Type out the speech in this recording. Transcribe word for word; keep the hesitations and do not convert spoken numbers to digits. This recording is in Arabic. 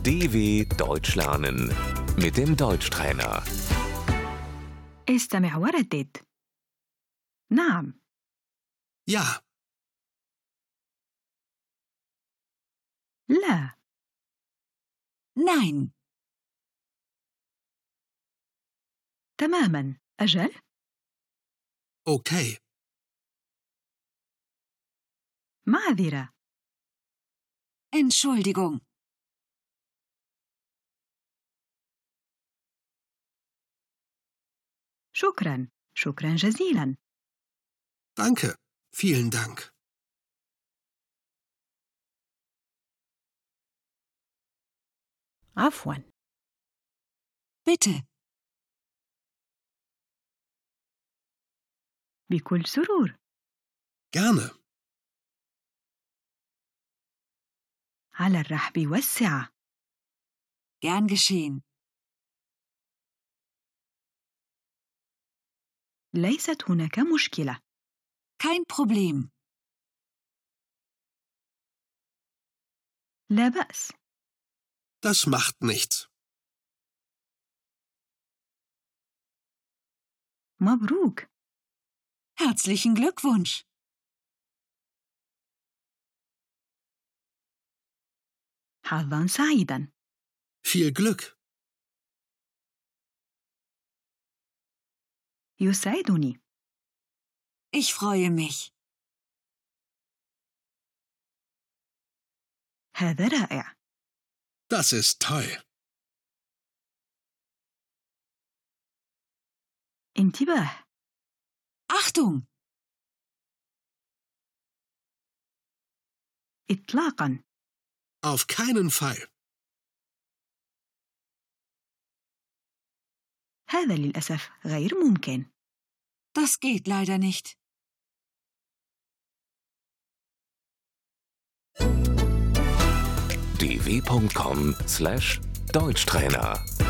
D W Deutsch lernen mit dem Deutschtrainer. استمع وردد. نعم. Ja, لا. Nein, تماما. أجل. okay, معذرة. Entschuldigung, شكرا. شكرا جزيلا. danke, vielen Dank. عفوا. bitte, بكل سرور. Gerne, على الرحب والسعة. gern geschehen. ليست هناك مشكلة. Kein Problem. لا بأس. das macht nichts. مبروك. Herzlichen Glückwunsch. حظا سعيدا. Viel Glück. يسعدني. Ich freue mich. هذا رائع. Das ist toll. انتباه. Achtung! إطلاقا. Auf keinen Fall. هذا للأسف غير ممكن. Das geht leider nicht. d w punkt com slash Deutschtrainer